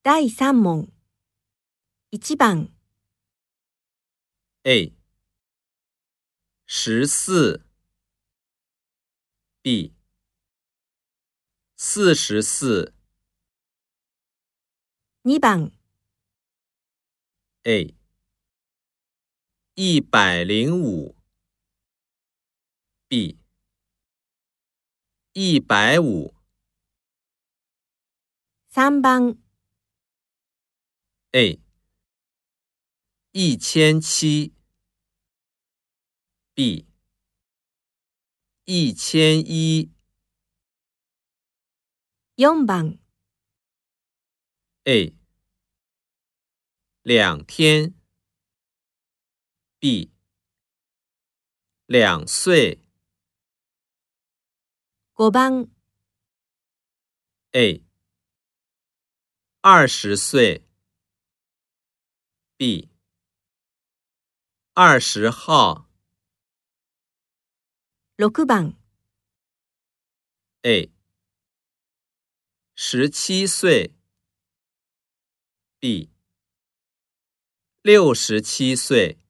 第3問。1番、 A 14 B 44 2番、 A 105 B 150 3番、 A 1007 B 1001 4番、 A 2天 B 2岁 5番、 A 20岁 B 20号 6番、 A 17岁 B 67岁